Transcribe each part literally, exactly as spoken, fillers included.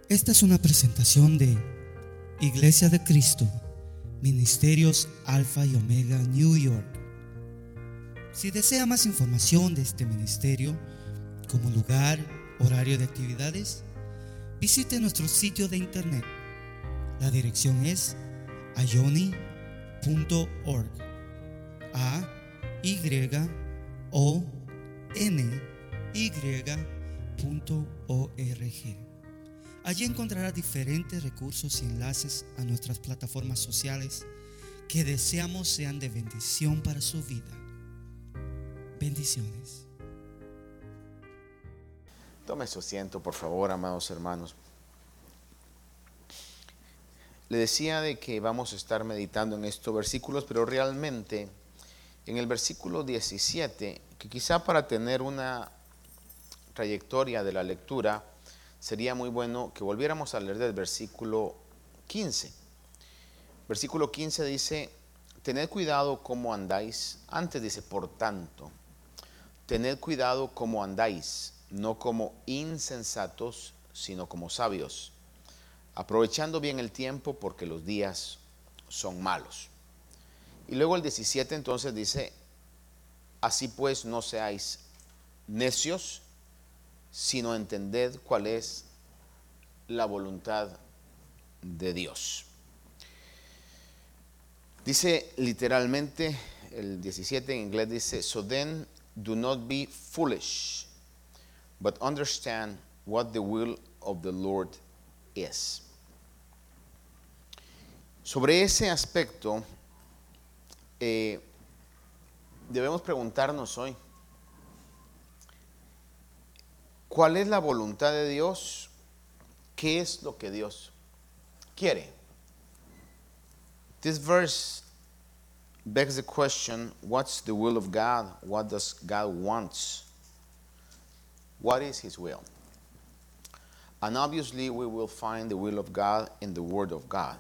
Esta es una presentación de Iglesia de Cristo, Ministerios Alfa y Omega, New York. Si desea más información de este ministerio, como lugar, horario de actividades, visite nuestro sitio de internet. La dirección es ayoni punto org. A Y O N Y punto org. Allí encontrará diferentes recursos y enlaces a nuestras plataformas sociales que deseamos sean de bendición para su vida. Bendiciones. Tome su asiento, por favor, amados hermanos. Le decía de que vamos a estar meditando en estos versículos, pero realmente en el versículo diecisiete, que quizá para tener una trayectoria de la lectura, sería muy bueno que volviéramos a leer del versículo quince. Versículo quince dice: tened cuidado cómo andáis. Antes dice: por tanto, tened cuidado cómo andáis, no como insensatos, sino como sabios, aprovechando bien el tiempo, porque los días son malos. Y luego el diecisiete entonces dice: así pues no seáis necios, sino entended cuál es la voluntad de Dios. Dice literalmente el diecisiete, en inglés dice: so then do not be foolish, but understand what the will of the Lord is. Sobre ese aspecto eh, debemos preguntarnos hoy: ¿cuál es la voluntad de Dios? ¿Qué es lo que Dios quiere? This verse begs the question: what's the will of God? What does God want? What is His will? And obviously we will find the will of God in the Word of God.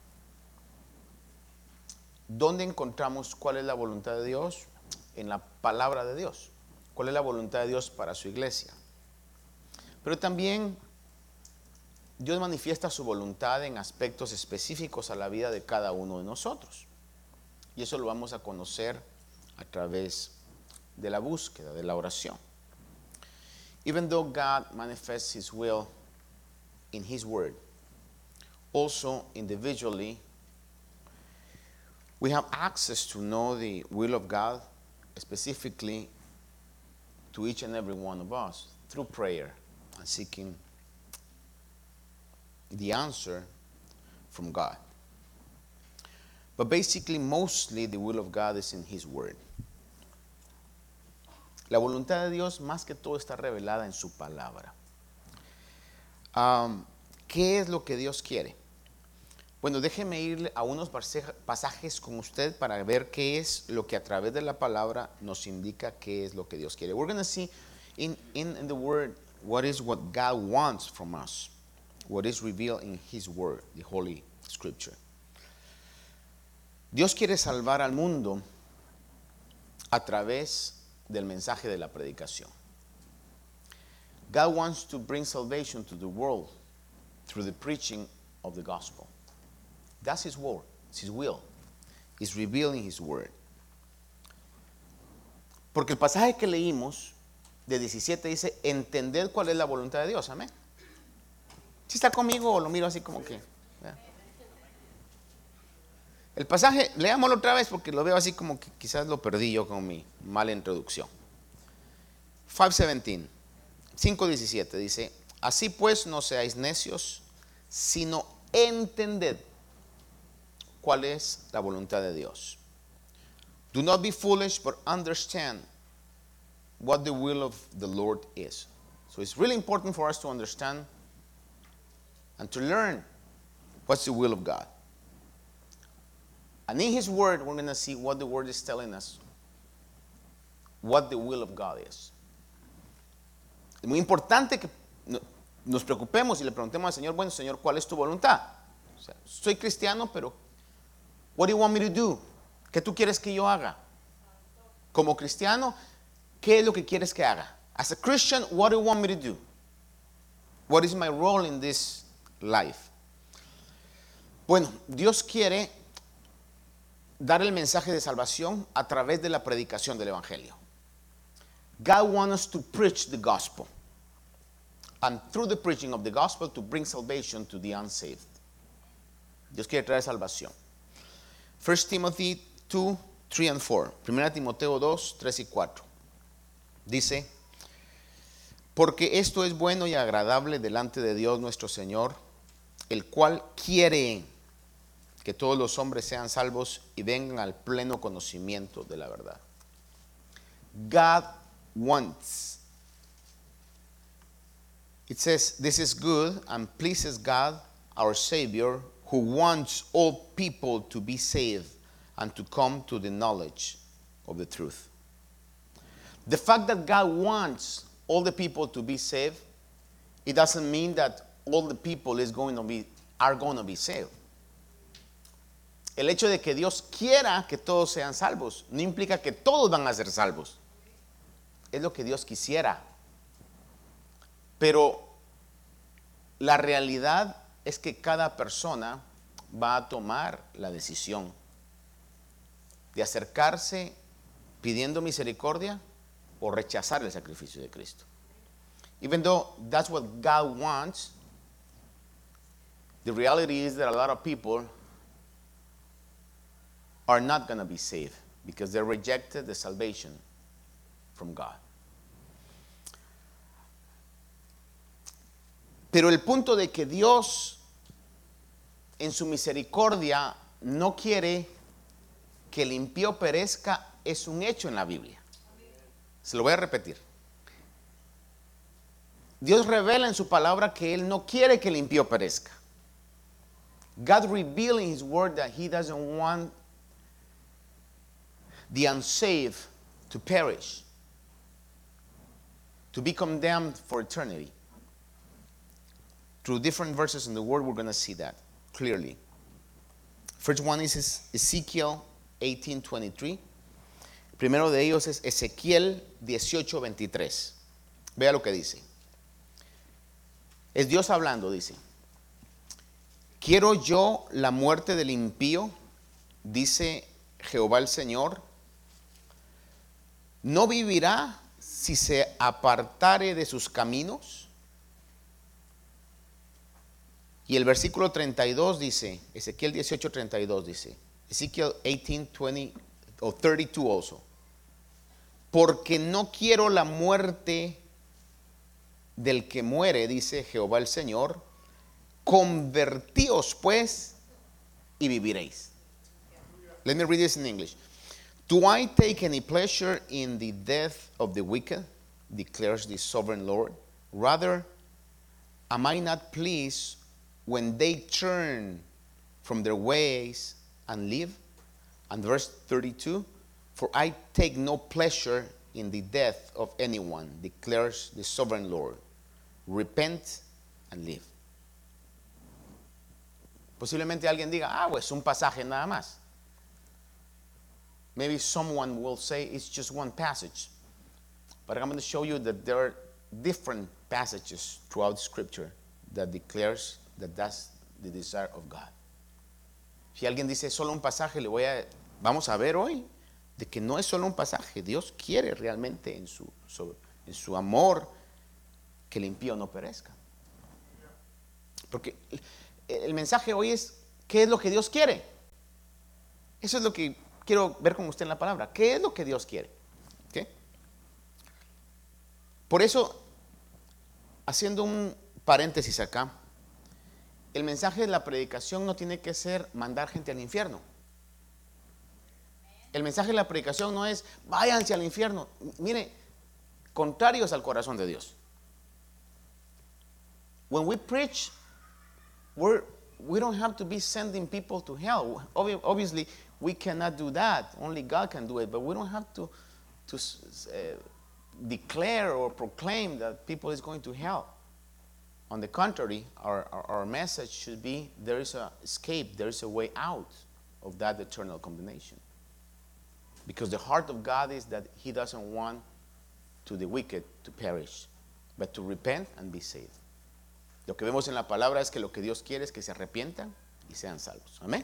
¿Dónde encontramos cuál es la voluntad de Dios? En la palabra de Dios. ¿Cuál es la voluntad de Dios para su iglesia? Pero también Dios manifiesta su voluntad en aspectos específicos a la vida de cada uno de nosotros. Y eso lo vamos a conocer a través de la búsqueda, de la oración. Even though God manifests His will in His Word, also individually, we have access to know the will of God specifically to each and every one of us through prayer and seeking the answer from God. But basically, mostly the will of God is in His Word. La voluntad de Dios más que todo está revelada en su palabra. Um, ¿Qué es lo que Dios quiere? Bueno, déjeme ir a unos pasajes con usted para ver qué es lo que a través de la palabra nos indica qué es lo que Dios quiere. We're going to see in, in, in the Word what is what God wants from us, what is revealed in His Word, the Holy Scripture. Dios quiere salvar al mundo a través del mensaje de la predicación. God wants to bring salvation to the world through the preaching of the gospel. That's His word, it's His will. He's revealing His word. Porque el pasaje que leímos de diecisiete dice: entended cuál es la voluntad de Dios. Amén. ¿Sí está conmigo o lo miro así como que? ¿Ya? El pasaje, leámoslo otra vez porque lo veo así como que quizás lo perdí yo con mi mala introducción. cinco diecisiete dice: así pues no seáis necios, sino entended cuál es la voluntad de Dios. Do not be foolish, but understand what the will of the Lord is. So it's really important for us to understand and to learn what's the will of God. And in His Word, we're going to see what the Word is telling us, what the will of God is. Es muy importante que nos preocupemos y le preguntemos al Señor: bueno, Señor, ¿cuál es tu voluntad? O sea, soy cristiano, pero what do you want me to do? ¿Qué tú quieres que yo haga? Como cristiano, ¿qué es lo que quieres que haga? As a Christian, what do you want me to do? What is my role in this life. Bueno, Dios quiere dar el mensaje de salvación a través de la predicación del Evangelio. God wants us to preach the gospel. And through the preaching of the gospel to bring salvation to the unsaved. Dios quiere traer salvación. First Timothy two, three and four. Primera Timoteo dos, tres y cuatro. Dice, porque esto es bueno y agradable delante de Dios nuestro Señor, el cual quiere que todos los hombres sean salvos y vengan al pleno conocimiento de la verdad. God wants. It says, this is good and pleases God, our Savior, who wants all people to be saved and to come to the knowledge of the truth. The fact that God wants all the people to be saved, it doesn't mean that all the people is going to be, are going to be saved. El hecho de que Dios quiera que todos sean salvos no implica que todos van a ser salvos. Es lo que Dios quisiera. Pero la realidad es que cada persona va a tomar la decisión de acercarse pidiendo misericordia o rechazar el sacrificio de Cristo. Even though that's what God wants, the reality is that a lot of people are not going to be saved because they rejected the salvation from God. Pero el punto de que Dios en su misericordia no quiere que el impío perezca es un hecho en la Biblia. Se lo voy a repetir. Dios revela en su palabra que Él no quiere que el impío perezca. God revealed in His word that He doesn't want the unsaved to perish, to be condemned for eternity. Through different verses in the Word, we're going to see that clearly. First one is Ezekiel eighteen twenty-three. Primero de ellos es Ezequiel dieciocho veintitrés. Vea lo que dice. Es Dios hablando, dice. Quiero yo la muerte del impío, dice Jehová el Señor. No vivirá si se apartare de sus caminos. Y el versículo treinta y dos dice, Ezequiel dieciocho treinta y dos dice, Ezekiel eighteen twenty o thirty-two also. Porque no quiero la muerte del que muere, dice Jehová el Señor. Convertíos pues y viviréis. Let me read this in English. Do I take any pleasure in the death of the wicked, declares the sovereign Lord? Rather, am I not pleased when they turn from their ways and live? And verse thirty-two, for I take no pleasure in the death of anyone, declares the sovereign Lord. Repent and live. Posiblemente alguien diga, ah, pues un pasaje nada más. Maybe someone will say it's just one passage. But I'm going to show you that there are different passages throughout Scripture that declares that that's the desire of God. Si alguien dice solo un pasaje, le voy a, vamos a ver hoy de que no es solo un pasaje. Dios quiere realmente en su, su, en su amor que el impío no perezca. Porque el, el mensaje hoy es, ¿qué es lo que Dios quiere? Eso es lo que quiero ver con usted en la palabra. ¿Qué es lo que Dios quiere? ¿Okay? Por eso, haciendo un paréntesis acá, el mensaje de la predicación no tiene que ser mandar gente al infierno. El mensaje de la predicación no es váyanse al infierno. Mire, contrarios al corazón de Dios. When we preach, we're, we don't have to be sending people to hell. Obviously, we cannot do that. Only God can do it. But we don't have to, to uh, declare or proclaim that people is going to hell. On the contrary, our, our, our message should be there is a escape, there is a way out of that eternal condemnation. Because the heart of God is that He doesn't want to the wicked to perish, but to repent and be saved. Lo que vemos en la palabra es que lo que Dios quiere es que se arrepientan y sean salvos. Amén.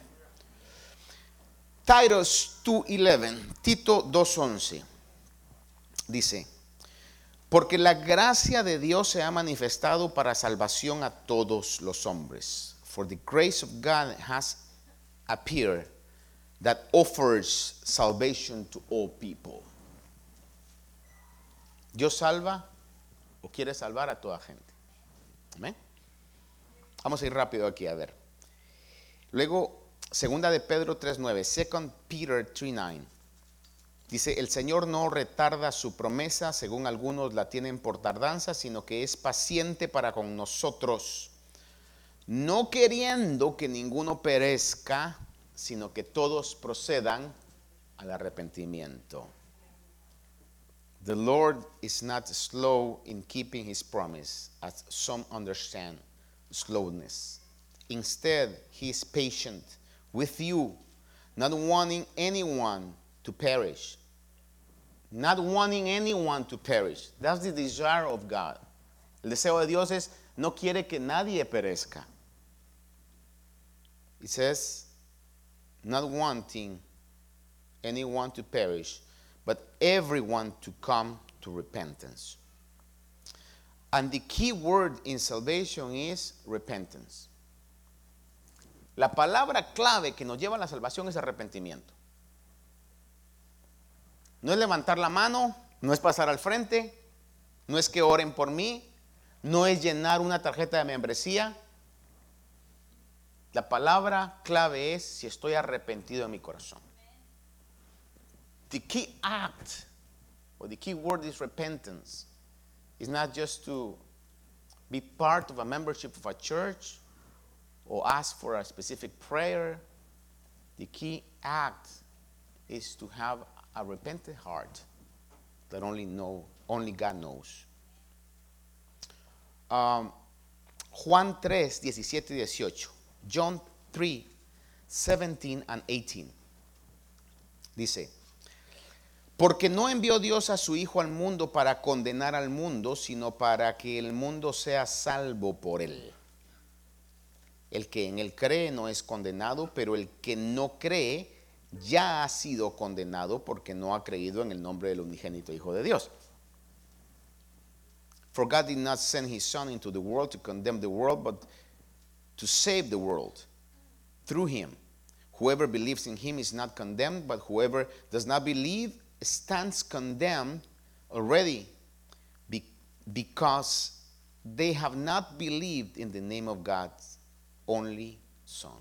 Titus dos once, Tito dos once, dice: porque la gracia de Dios se ha manifestado para salvación a todos los hombres. For the grace of God has appeared that offers salvation to all people. Dios salva o quiere salvar a toda gente. Amén. Vamos a ir rápido aquí a ver. Luego, segunda de Pedro tres nueve, Second Peter tres nueve. Dice: el Señor no retarda su promesa, según algunos la tienen por tardanza, sino que es paciente para con nosotros, no queriendo que ninguno perezca, sino que todos procedan al arrepentimiento. The Lord is not slow in keeping his promise, as some understand slowness. Instead, he is patient with you, not wanting anyone to perish. Not wanting anyone to perish. That's the desire of God. El deseo de Dios es, no quiere que nadie perezca. It says, not wanting anyone to perish, but everyone to come to repentance. And the key word in salvation is repentance. La palabra clave que nos lleva a la salvación es arrepentimiento. No es levantar la mano, no es pasar al frente, no es que oren por mí, no es llenar una tarjeta de membresía. La palabra clave es si estoy arrepentido en mi corazón. The key act, or the key word is repentance. It's not just to be part of a membership of a church or ask for a specific prayer. The key act is to have a repentant heart that only know, only God knows. Um, Juan tres, diecisiete y dieciocho. John three, seventeen and eighteen. Dice: porque no envió Dios a su Hijo al mundo para condenar al mundo, sino para que el mundo sea salvo por él. El que en él cree no es condenado, pero el que no cree ya ha sido condenado porque no ha creído en el nombre del unigénito Hijo de Dios. For God did not send his Son into the world to condemn the world, but to save the world through him. Whoever believes in him is not condemned, but whoever does not believe stands condemned already, be, because they have not believed in the name of God's only Son.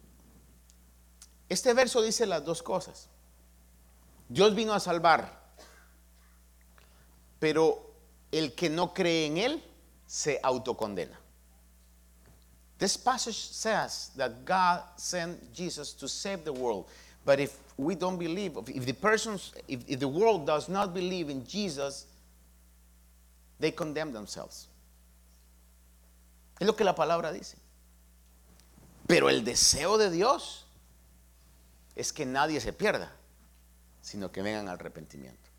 Este verso dice las dos cosas. Dios vino a salvar, pero el que no cree en él se autocondena. This passage says that God sent Jesus to save the world, but if we don't believe, if the persons, if, if the world does not believe in Jesus, they condemn themselves. Es lo que la palabra dice. Pero el deseo de Dios es que nadie se pierda, sino que vengan al arrepentimiento.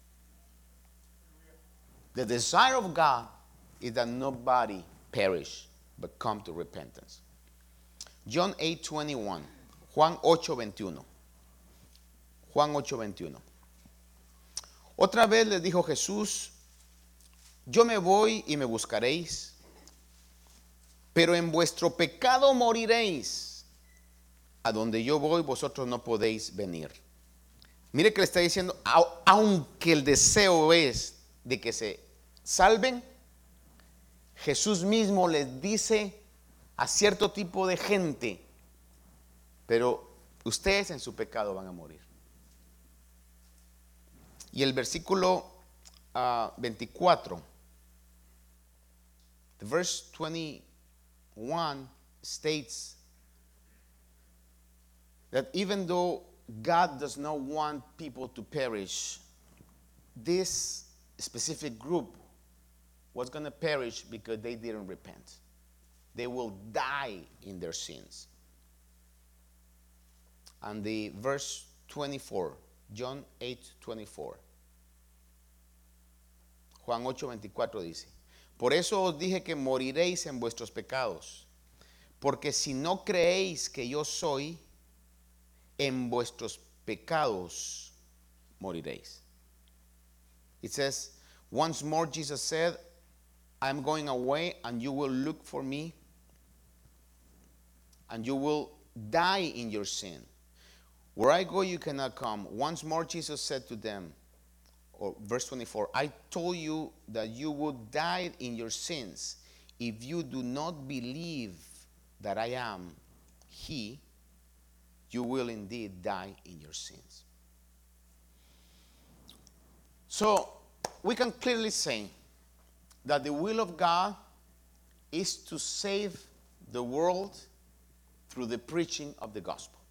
The desire of God is that nobody perish, but come to repentance. John eight twenty-one. Juan ocho veintiuno. Juan ocho veintiuno. Otra vez les dijo Jesús: yo me voy y me buscaréis, pero en vuestro pecado moriréis. A donde yo voy, vosotros no podéis venir. Mire que le está diciendo, aunque el deseo es de que se salven, Jesús mismo les dice a cierto tipo de gente: pero ustedes en su pecado van a morir. Y el versículo uh, veinticuatro, the verse twenty-one states that even though God does not want people to perish, this specific group was going to perish because they didn't repent. They will die in their sins. And the verse twenty-four, John eight twenty-four. Juan ocho veinticuatro dice: Por eso os dije que moriréis en vuestros pecados. Porque si no creéis que yo soy, en vuestros pecados moriréis. It says, once more Jesus said, I am going away and you will look for me and you will die in your sin. Where I go, you cannot come. Once more Jesus said to them, or verse twenty-four, I told you that you would die in your sins. If you do not believe that I am He, you will indeed die in your sins. So, we can clearly say that the will of God is to save the world through the preaching of the gospel.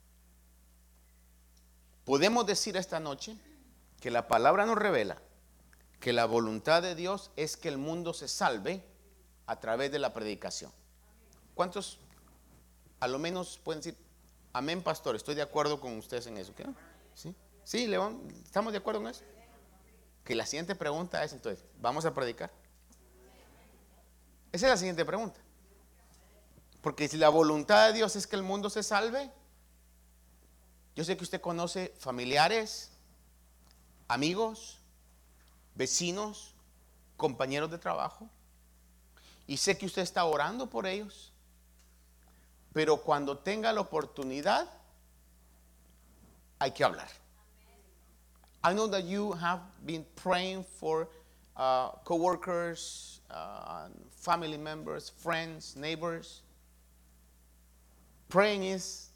Podemos decir esta noche que la palabra nos revela que la voluntad de Dios es que el mundo se salve a través de la predicación. ¿Cuántos a lo menos pueden decir, amén, pastor? Estoy de acuerdo con ustedes en eso. ¿Qué? ¿Sí? ¿Sí, León? ¿Estamos de acuerdo en eso? Que la siguiente pregunta es entonces, ¿vamos a predicar? Esa es la siguiente pregunta. Porque si la voluntad de Dios es que el mundo se salve, yo sé que usted conoce familiares, amigos, vecinos, compañeros de trabajo, y sé que usted está orando por ellos, pero cuando tenga la oportunidad hay que hablar. I know that you have been praying for uh, co-workers, uh, family members, friends, neighbors. Praying is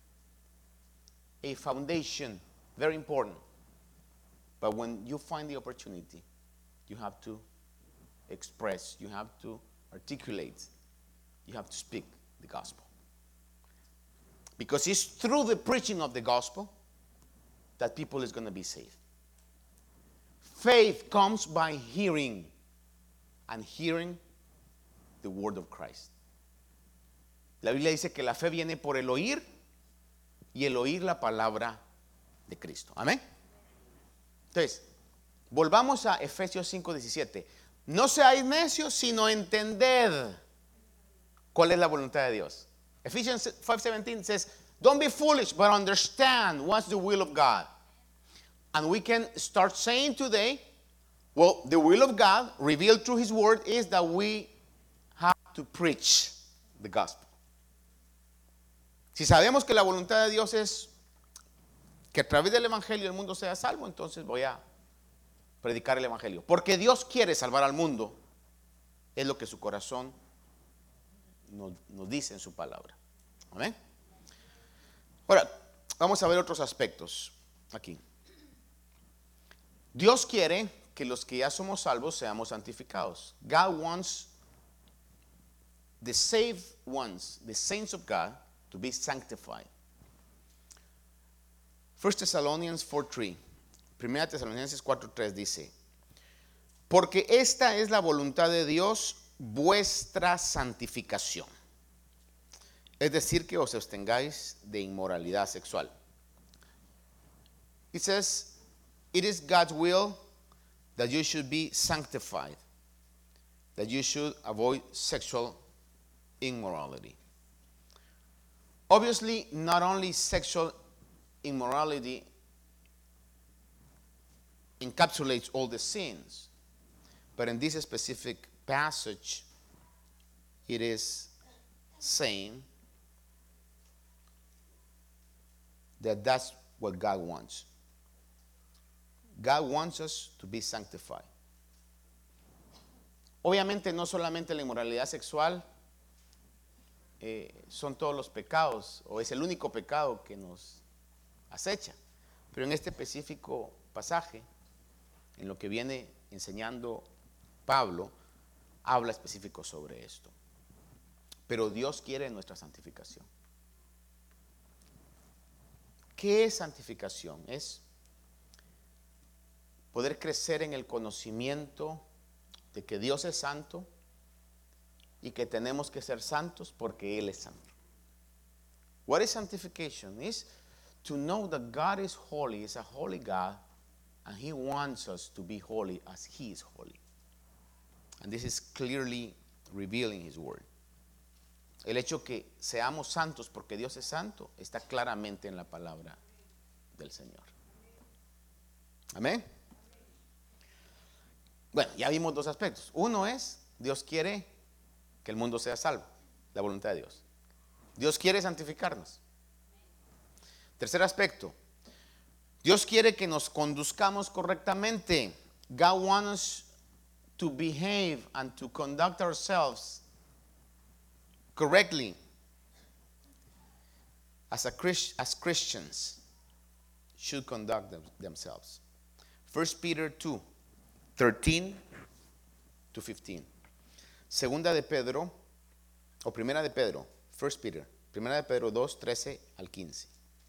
a foundation, very important. But when you find the opportunity, you have to express, you have to articulate, you have to speak the gospel. Because it's through the preaching of the gospel that people is going to be saved. Faith comes by hearing, and hearing the word of Christ. La Biblia dice que la fe viene por el oír y el oír la palabra de Cristo. Amén. Entonces, volvamos a Efesios cinco diecisiete. No seáis necios, sino entended cuál es la voluntad de Dios. Ephesians five seventeen says, don't be foolish, but understand what's the will of God. And we can start saying today, well, the will of God revealed through His word is that we have to preach the gospel. Si sabemos que la voluntad de Dios es que a través del evangelio el mundo sea salvo, entonces voy a predicar el evangelio. Porque Dios quiere salvar al mundo, es lo que su corazón nos, nos dice en su palabra. Amén. Ahora, vamos a ver otros aspectos aquí. Dios quiere que los que ya somos salvos seamos santificados. God wants the saved ones, the saints of God, to be sanctified. First Thessalonians four three. Primera Tesalonicenses cuatro tres dice, porque esta es la voluntad de Dios, vuestra santificación. Es decir, que os abstengáis de inmoralidad sexual. It says, it is God's will that you should be sanctified, that you should avoid sexual immorality. Obviously, not only sexual immorality encapsulates all the sins, but in this specific passage, it is saying that that's what God wants. God wants us to be sanctified. Obviamente no solamente la inmoralidad sexual eh, son todos los pecados, o es el único pecado que nos acecha, pero en este específico pasaje, en lo que viene enseñando Pablo, habla específico sobre esto. Pero Dios quiere nuestra santificación. ¿Qué es santificación? Es poder crecer en el conocimiento de que Dios es santo y que tenemos que ser santos porque Él es santo. What is sanctification? Is to know that God is holy, is a holy God, and He wants us to be holy as He is holy. And this is clearly revealing His word. El hecho que seamos santos porque Dios es santo está claramente en la palabra del Señor. Amén. Bueno, ya vimos dos aspectos. Uno es, Dios quiere que el mundo sea salvo, la voluntad de Dios. Dios quiere santificarnos. Tercer aspecto, Dios quiere que nos conduzcamos correctamente. God wants us to behave and to conduct ourselves correctly as a Christ, as Christians should conduct them, themselves. First Peter two, thirteen to fifteen. Segunda de Pedro, o primera de Pedro, First Peter, primera de Pedro dos, trece al quince.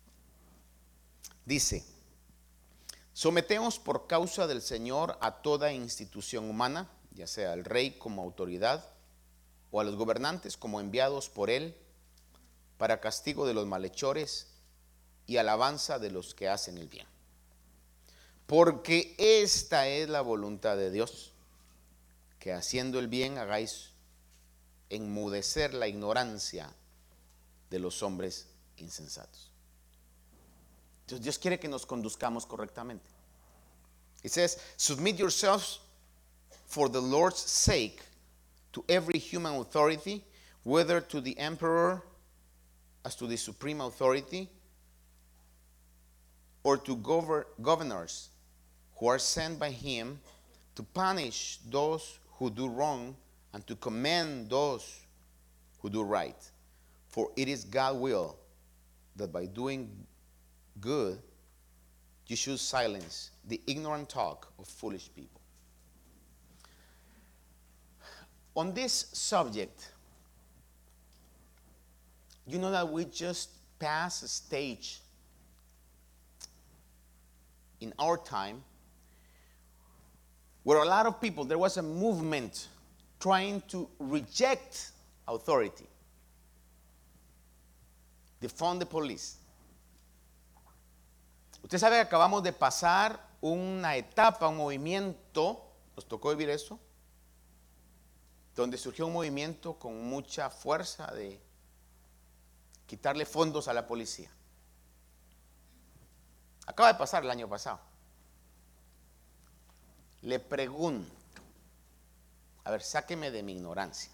Dice: sometemos por causa del Señor a toda institución humana, ya sea al rey como autoridad, o a los gobernantes como enviados por él, para castigo de los malhechores y alabanza de los que hacen el bien. Porque esta es la voluntad de Dios, que haciendo el bien hagáis enmudecer la ignorancia de los hombres insensatos. Entonces Dios quiere que nos conduzcamos correctamente. It says, submit yourselves for the Lord's sake to every human authority, whether to the emperor as to the supreme authority, or to govern, governors who are sent by him to punish those who do wrong and to commend those who do right. For it is God's will that by doing good you should silence the ignorant talk of foolish people. On this subject, you know that we just passed a stage in our time where a lot of people, there was a movement trying to reject authority, defund the police. Usted sabe que acabamos de pasar una etapa, un movimiento, nos tocó vivir eso, donde surgió un movimiento con mucha fuerza de quitarle fondos a la policía. Acaba de pasar el año pasado. Le pregunto, a ver, sáqueme de mi ignorancia.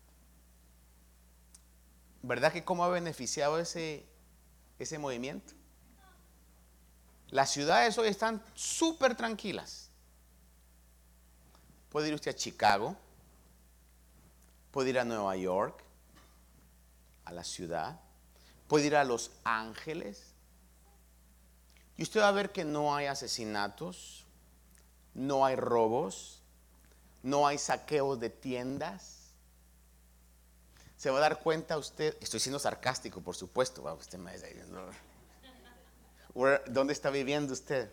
¿Verdad que cómo ha beneficiado ese, ese movimiento? Las ciudades hoy están súper tranquilas. Puede ir usted a Chicago, puede ir a Nueva York, a la ciudad, puede ir a Los Ángeles, y usted va a ver que no hay asesinatos, no hay robos, no hay saqueos de tiendas. Se va a dar cuenta usted, estoy siendo sarcástico, por supuesto, usted me está diciendo, ¿dónde está viviendo usted?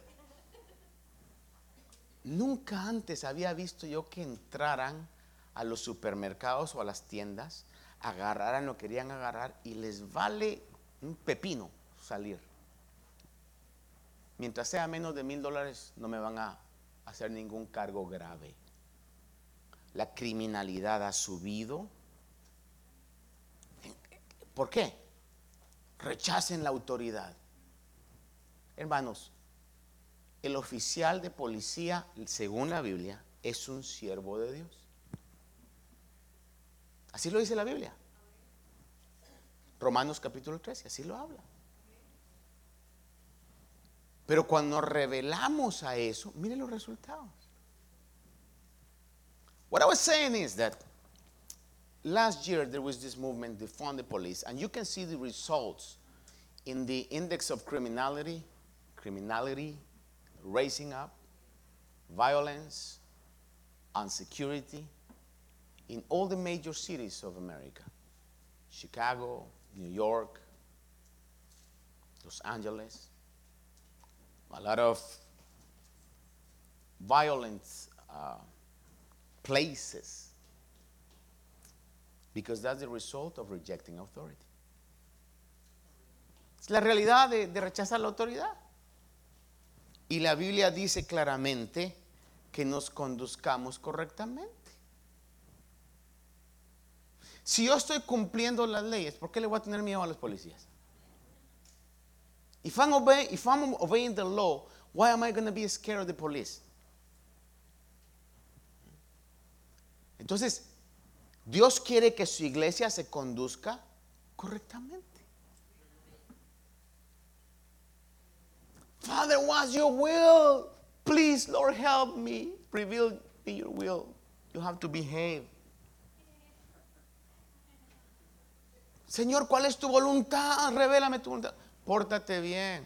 Nunca antes había visto yo que entraran a los supermercados o a las tiendas, agarraran lo que querían agarrar y les vale un pepino salir. Mientras sea menos de mil dólares no me van a hacer ningún cargo grave. La criminalidad ha subido. ¿Por qué? Rechacen la autoridad. Hermanos, el oficial de policía, según la Biblia, es un siervo de Dios. Así lo dice la Biblia. Romanos capítulo trece, así lo habla. Pero cuando nos revelamos a eso, miren los resultados. What I was saying is that last year there was this movement, defund the police, and you can see the results in the index of criminality, criminality raising up, violence, insecurity in all the major cities of America. Chicago, New York, Los Angeles. A lot of violent uh, places, because that's the result of rejecting authority. Es la realidad de, de rechazar la autoridad. Y la Biblia dice claramente que nos conduzcamos correctamente. Si yo estoy cumpliendo las leyes, ¿por qué le voy a tener miedo a los policías? If I'm, obey, if I'm obeying the law, why am I going to be scared of the police? Entonces, Dios quiere que su iglesia se conduzca correctamente. Father, what's your will? Please, Lord, help me. Reveal me your will. You have to behave. Señor, ¿cuál es tu voluntad? Revélame tu voluntad. Pórtate bien.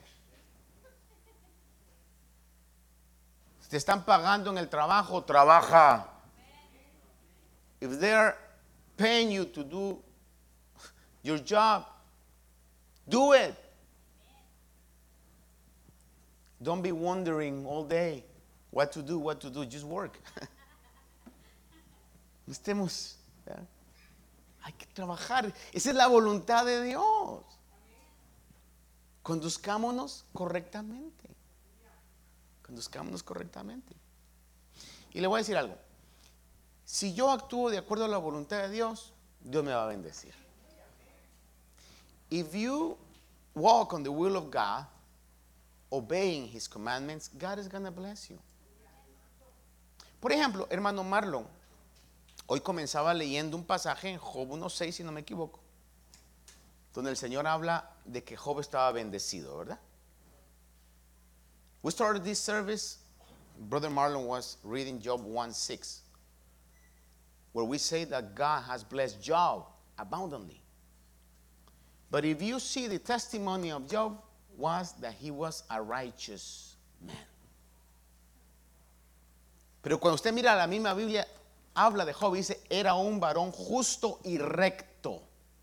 Si te están pagando en el trabajo, trabaja. If they're paying you to do your job, do it. Don't be wondering all day what to do, what to do. Just work. No estemos. ¿Verdad? Hay que trabajar. Esa es la voluntad de Dios. Conduzcámonos correctamente. Conduzcámonos correctamente. Y le voy a decir algo. Si yo actúo de acuerdo a la voluntad de Dios, Dios me va a bendecir. If you walk on the will of God, obeying His commandments, God is going to bless you. Por ejemplo, hermano Marlon, hoy comenzaba leyendo un pasaje en Job uno seis, si no me equivoco, donde el Señor habla de que Job estaba bendecido, ¿verdad? We started this service, Brother Marlon was reading Job one six, where we say that God has blessed Job abundantly. But if you see, the testimony of Job was that he was a righteous man. Pero cuando usted mira la misma Biblia, habla de Job y dice, era un varón justo y recto.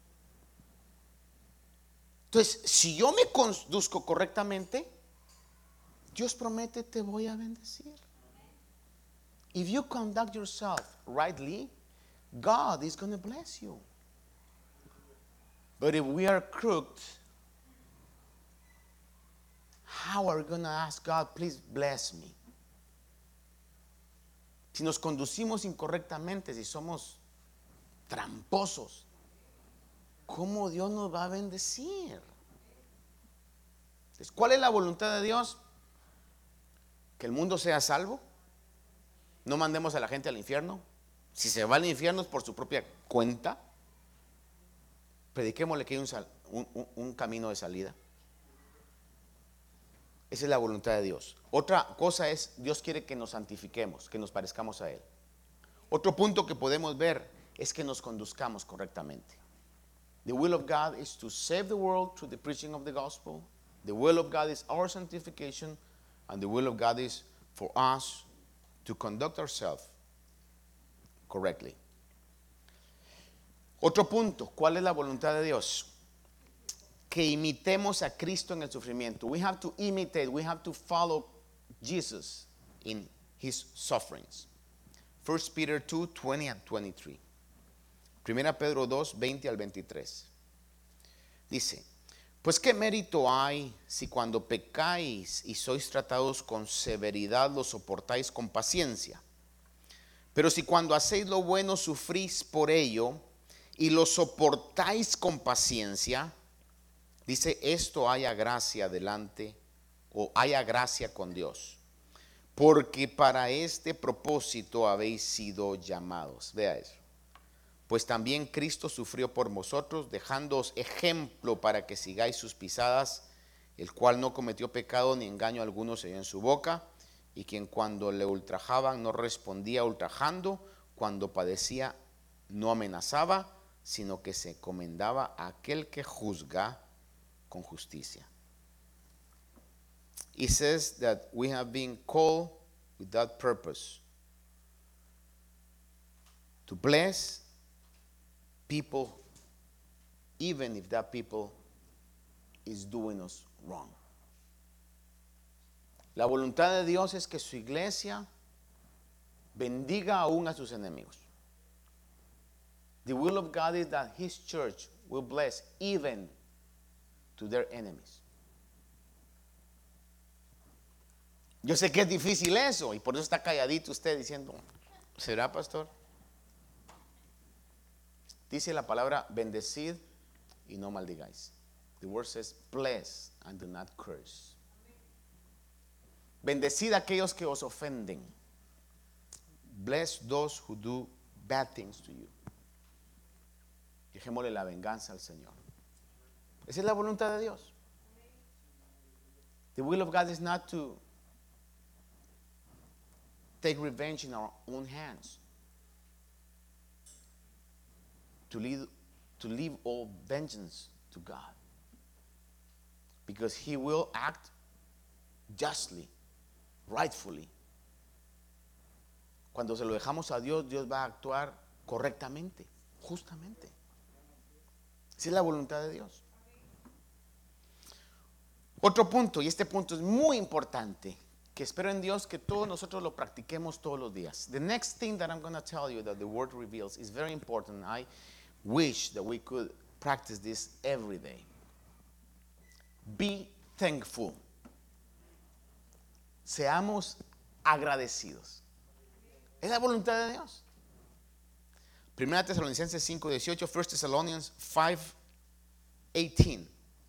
Entonces, si yo me conduzco correctamente, Dios promete, te voy a bendecir. If you conduct yourself rightly, God is going to bless you. But if we are crooked, how are we going to ask God, please bless me? Si nos conducimos incorrectamente, si somos tramposos, ¿cómo Dios nos va a bendecir? Entonces, ¿cuál es la voluntad de Dios? Que el mundo sea salvo. No mandemos a la gente al infierno. Si se va al infierno es por su propia cuenta. Prediquémosle que hay un, sal, un, un, un camino de salida. Esa es la voluntad de Dios. Otra cosa es, Dios quiere que nos santifiquemos, que nos parezcamos a Él. Otro punto que podemos ver es que nos conduzcamos correctamente. The will of God is to save the world through the preaching of the gospel. The will of God is our sanctification. And the will of God is for us to conduct ourselves correctly. Otro punto, ¿cuál es la voluntad de Dios? Que imitemos a Cristo en el sufrimiento. We have to imitate, we have to follow Jesus in His sufferings. First Peter two, twenty and twenty-three. Primera Pedro dos, veinte al veintitrés. Dice, pues qué mérito hay si cuando pecáis y sois tratados con severidad lo soportáis con paciencia. Pero si cuando hacéis lo bueno sufrís por ello y lo soportáis con paciencia, dice, esto haya gracia delante o haya gracia con Dios, porque para este propósito habéis sido llamados. Vea eso. Pues también Cristo sufrió por vosotros, dejándoos ejemplo para que sigáis sus pisadas, el cual no cometió pecado ni engaño alguno se oyó en su boca, y quien cuando le ultrajaban no respondía ultrajando, cuando padecía no amenazaba, sino que se encomendaba a aquel que juzga con justicia. It says that we have been called with that purpose, to bless people, even if that people is doing us wrong. La voluntad de Dios es que su iglesia bendiga aún a sus enemigos. The will of God is that His church will bless even to their enemies. Yo sé que es difícil eso y por eso está calladito usted diciendo, ¿será, pastor? Dice la palabra bendecid y no maldigáis. The word says bless and do not curse. Bendecid a aquellos que os ofenden. Bless those who do bad things to you. Dejémosle la venganza al Señor. Esa es la voluntad de Dios. The will of God is not to take revenge in our own hands. To leave, to leave all vengeance to God. Because He will act justly, rightfully. Cuando se lo dejamos a Dios, Dios va a actuar correctamente, justamente. Esa es la voluntad de Dios. Otro punto, y este punto es muy importante, que espero en Dios que todos nosotros lo practiquemos todos los días. The next thing that I'm going to tell you that the word reveals is very important. I wish that we could practice this every day. Be thankful. Seamos agradecidos. Es la voluntad de Dios. Primera Tesalonicenses cinco dieciocho, First Thessalonians five eighteen.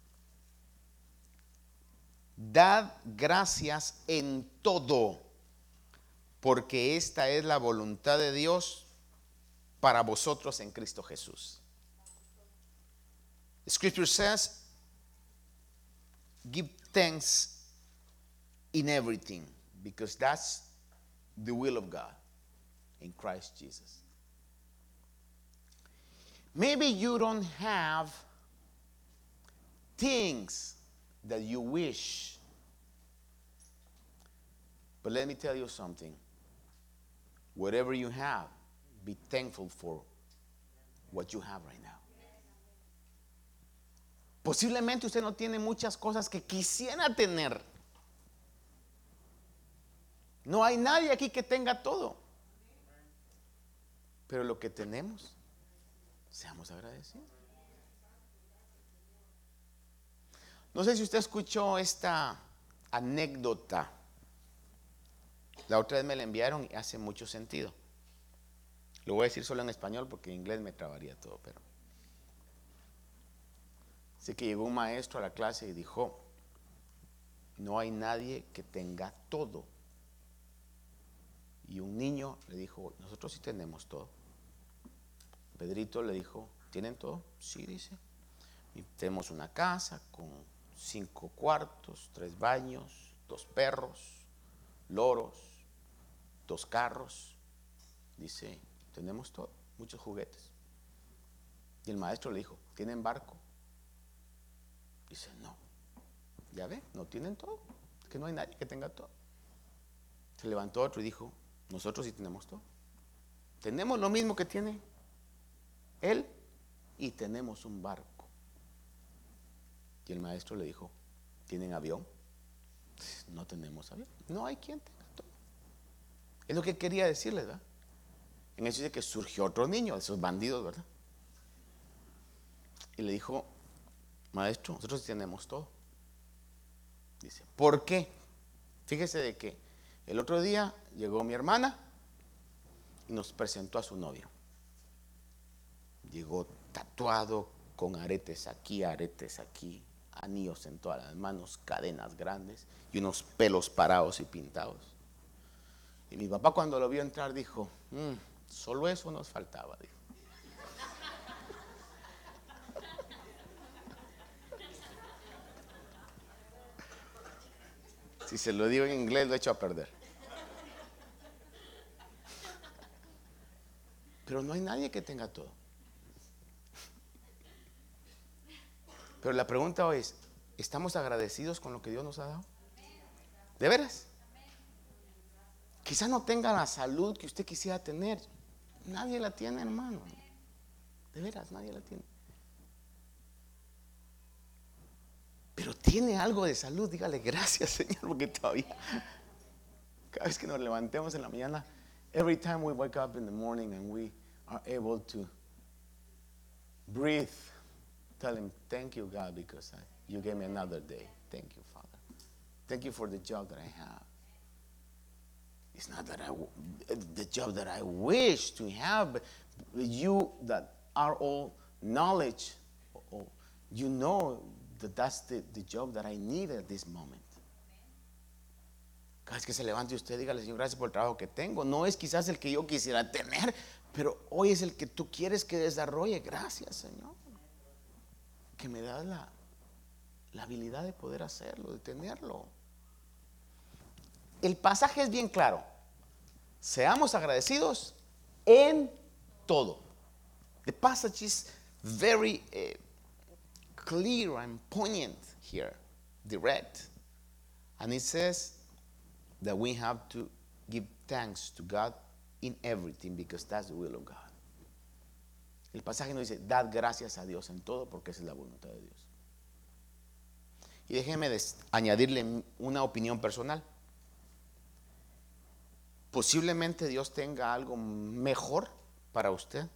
Dad gracias en todo, porque esta es la voluntad de Dios para vosotros en Cristo Jesús. The scripture says, give thanks in everything, because that's the will of God in Christ Jesus. Maybe you don't have things that you wish, but let me tell you something. Whatever you have, be thankful for what you have right now. Posiblemente usted no tiene muchas cosas que quisiera tener. No hay nadie aquí que tenga todo. Pero lo que tenemos, seamos agradecidos. No sé si usted escuchó esta anécdota. La otra vez me la enviaron y hace mucho sentido. Lo voy a decir solo en español porque en inglés me trabaría todo, pero sé que llegó un maestro a la clase y dijo: no hay nadie que tenga todo. Y un niño le dijo: nosotros sí tenemos todo. Pedrito le dijo: ¿tienen todo? Sí, dice. Y tenemos una casa con cinco cuartos, tres baños, dos perros, loros, dos carros. Dice: tenemos todo, muchos juguetes. Y el maestro le dijo: ¿tienen barco? Dice: no. Ya ve, no tienen todo. Es que no hay nadie que tenga todo. Se levantó otro y dijo: nosotros sí tenemos todo. Tenemos lo mismo que tiene él y tenemos un barco. Y el maestro le dijo: ¿tienen avión? No tenemos avión. No hay quien tenga todo. Es lo que quería decirles, ¿verdad? En eso dice que surgió otro niño, de esos bandidos, ¿verdad? Y le dijo: maestro, nosotros sí tenemos todo. Dice: ¿por qué? Fíjese de que el otro día llegó mi hermana y nos presentó a su novio. Llegó tatuado, con aretes aquí, aretes aquí, anillos en todas las manos, cadenas grandes y unos pelos parados y pintados. Y mi papá, cuando lo vio entrar, dijo: mmm, solo eso nos faltaba, dijo. Si se lo digo en inglés, lo echo a perder. Pero no hay nadie que tenga todo. Pero la pregunta hoy es: ¿estamos agradecidos con lo que Dios nos ha dado? ¿De veras? Quizá no tenga la salud que usted quisiera tener. Nadie la tiene, hermano. De veras, nadie la tiene. Pero tiene algo de salud. Dígale gracias, Señor, porque todavía, cada vez que nos levantemos en la mañana, every time we wake up in the morning and we are able to breathe, tell Him, thank you, God, because I, you gave me another day. Thank you, Father. Thank you for the job that I have. It's not that I, the job that I wish to have, but you that are all knowledge. Oh, you know that that's the, the job that I need at this moment. Cada vez que se levante usted, dígale, Señor, gracias por el trabajo que tengo. No es quizás el que yo quisiera tener, pero hoy es el que tú quieres que desarrolle. Gracias, Señor, que me das la, la habilidad de poder hacerlo, de tenerlo. El pasaje es bien claro. Seamos agradecidos en todo. The passage is very uh, clear and poignant here, direct. And it says that we have to give thanks to God in everything because that's the will of God. El pasaje nos dice, dad gracias a Dios en todo porque esa es la voluntad de Dios. Y déjeme des- añadirle una opinión personal. Posiblemente Dios tenga algo mejor para usted,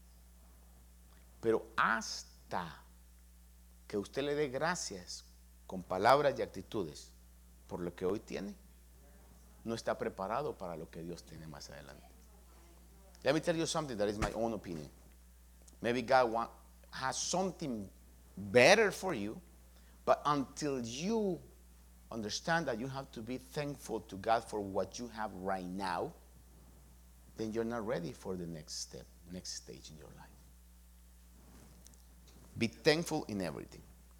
pero hasta que usted le dé gracias con palabras y actitudes por lo que hoy tiene, no está preparado para lo que Dios tiene más adelante. Let me tell you something that is my own opinion. Maybe God want, has something better for you, but until you understand that you have to be thankful to God for what you have right now, then you're not ready for the next step, next stage in your life. Be thankful in everything.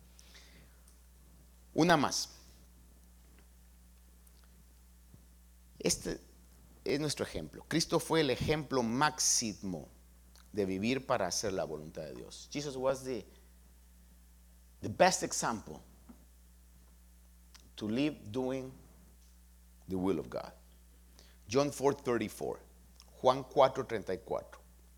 Una más. Este es nuestro ejemplo. Cristo fue el ejemplo máximo de vivir para hacer la voluntad de Dios. Jesus was the, the best example to live doing the will of God. John four thirty-four. Juan cuatro treinta y cuatro.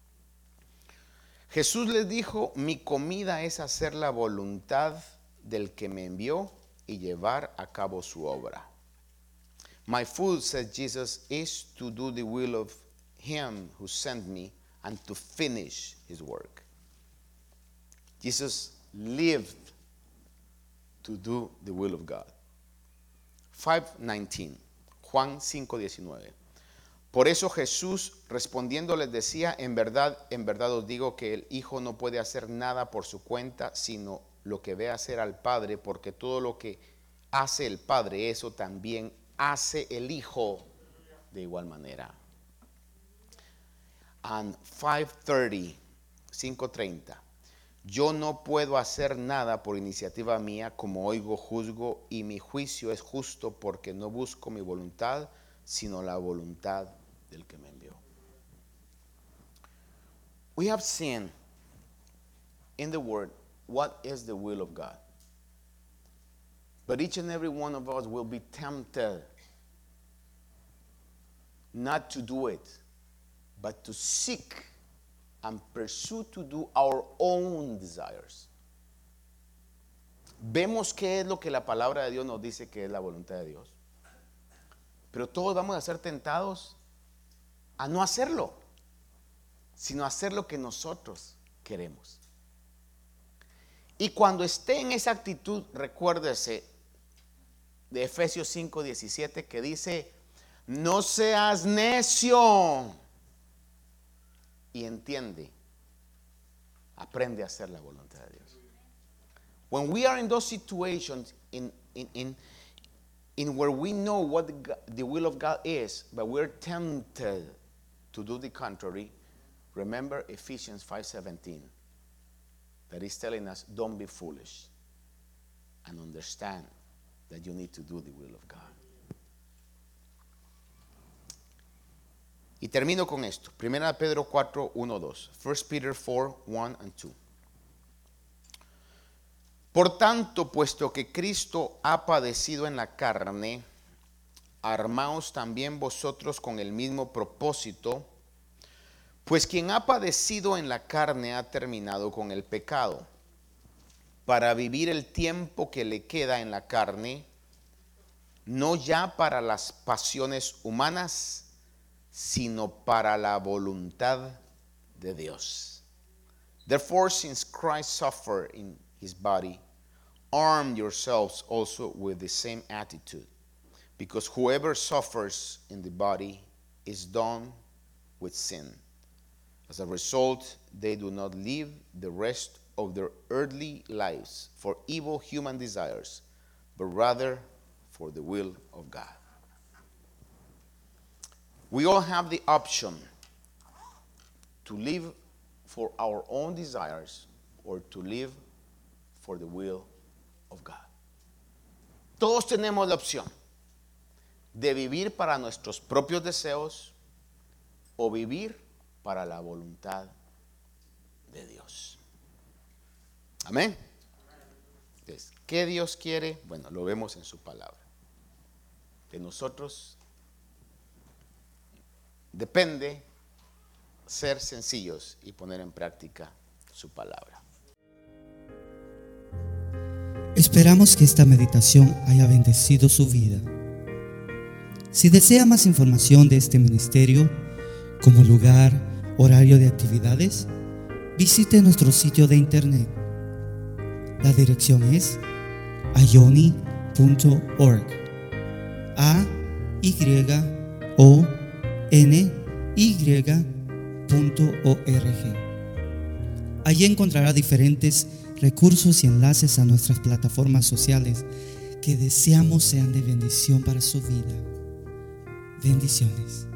Jesús les dijo, mi comida es hacer la voluntad del que me envió y llevar a cabo su obra. My food, said Jesus, is to do the will of him who sent me and to finish his work. Jesus lived to do the will of God. five nineteen. Juan cinco diecinueve. Por eso Jesús respondiendo les decía, en verdad, en verdad os digo que el Hijo no puede hacer nada por su cuenta, sino lo que ve hacer al Padre, porque todo lo que hace el Padre, eso también hace el Hijo de igual manera. And five thirty, cinco treinta. Yo no puedo hacer nada por iniciativa mía, como oigo, juzgo, y mi juicio es justo porque no busco mi voluntad, sino la voluntad del que me envió. We have seen in the Word what is the will of God. But each and every one of us will be tempted not to do it, but to seek and pursue to do our own desires. Vemos qué es lo que la palabra de Dios nos dice que es la voluntad de Dios. Pero todos vamos a ser tentados a no hacerlo, sino a hacer lo que nosotros queremos. Y cuando esté en esa actitud, recuérdese de Efesios cinco diecisiete que dice, no seas necio. Y entiende, aprende a hacer la voluntad de Dios. When we are in those situations in, in, in, in where we know what the, the will of God is, but we're tempted to do the contrary, remember Ephesians five seventeen, that is telling us, don't be foolish and understand that you need to do the will of God. Y termino con esto. Primera de Pedro cuatro, uno, dos. First Peter four, one and two. Por tanto, puesto que Cristo ha padecido en la carne, armaos también vosotros con el mismo propósito, pues quien ha padecido en la carne ha terminado con el pecado, para vivir el tiempo que le queda en la carne, no ya para las pasiones humanas, sino para la voluntad de Dios. Therefore, since Christ suffered in his body, arm yourselves also with the same attitude, because whoever suffers in the body is done with sin. As a result, they do not live the rest of their earthly lives for evil human desires, but rather for the will of God. We all have the option to live for our own desires or to live for the will of God. Todos tenemos la opción de vivir para nuestros propios deseos o vivir para la voluntad de Dios. Amén. Entonces, ¿qué Dios quiere? Bueno, lo vemos en su palabra. De nosotros depende ser sencillos y poner en práctica su palabra. Esperamos que esta meditación haya bendecido su vida. Si desea más información de este ministerio, como lugar, horario de actividades, visite nuestro sitio de internet. La dirección es ayoni punto org. A Y O N Y punto org. Allí encontrará diferentes recursos y enlaces a nuestras plataformas sociales que deseamos sean de bendición para su vida. Bendiciones.